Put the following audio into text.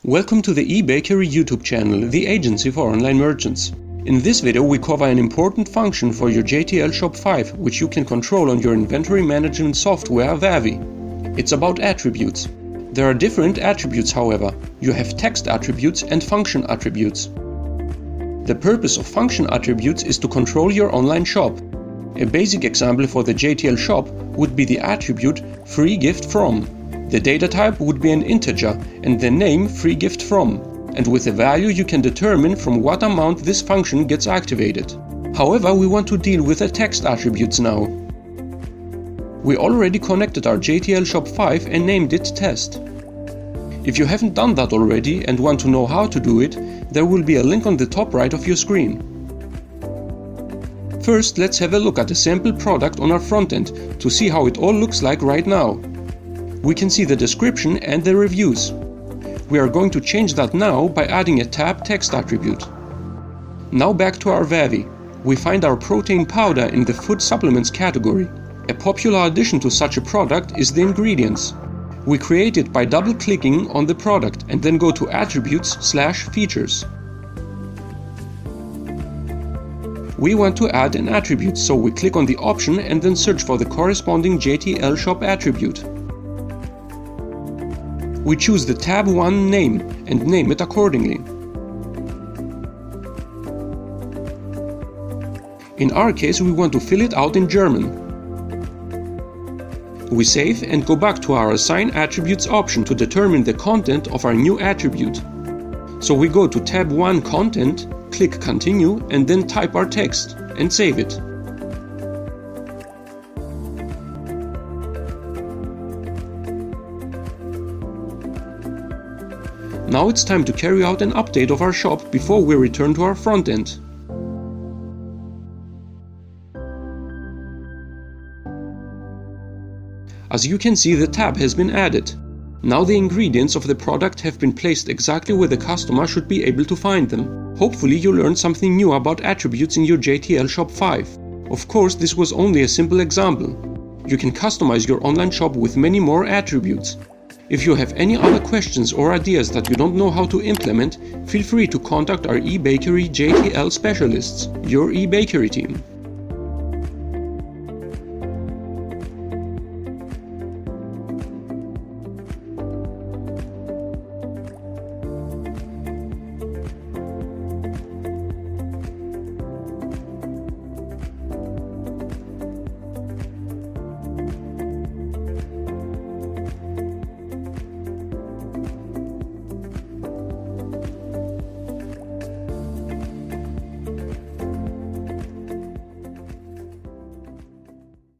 Welcome to the eBakery YouTube channel, the agency for online merchants. In this video we cover an important function for your JTL Shop 5, which you can control on your inventory management software Vavi. It's about attributes. There are different attributes, however. You have text attributes and function attributes. The purpose of function attributes is to control your online shop. A basic example for the JTL Shop would be the attribute free gift from. The data type would be an integer and the name free gift from, and with a value you can determine from what amount this function gets activated. However, we want to deal with the text attributes now. We already connected our JTL Shop 5 and named it test. If you haven't done that already and want to know how to do it, there will be a link on the top right of your screen. First, let's have a look at a sample product on our front end to see how it all looks like right now. We can see the description and the reviews. We are going to change that now by adding a tab text attribute. Now back to our Vavi. We find our protein powder in the food supplements category. A popular addition to such a product is the ingredients. We create it by double-clicking on the product and then go to Attributes/Features. We want to add an attribute, so we click on the option and then search for the corresponding JTL Shop attribute. We choose the tab 1 name and name it accordingly. In our case, we want to fill it out in German. We save and go back to our Assign Attributes option to determine the content of our new attribute. So we go to tab 1 Content, click Continue and then type our text and save it. Now it's time to carry out an update of our shop before we return to our front end. As you can see, the tab has been added. Now the ingredients of the product have been placed exactly where the customer should be able to find them. Hopefully you learned something new about attributes in your JTL Shop 5. Of course, this was only a simple example. You can customize your online shop with many more attributes. If you have any other questions or ideas that you don't know how to implement, feel free to contact our eBakery JTL specialists, your eBakery team.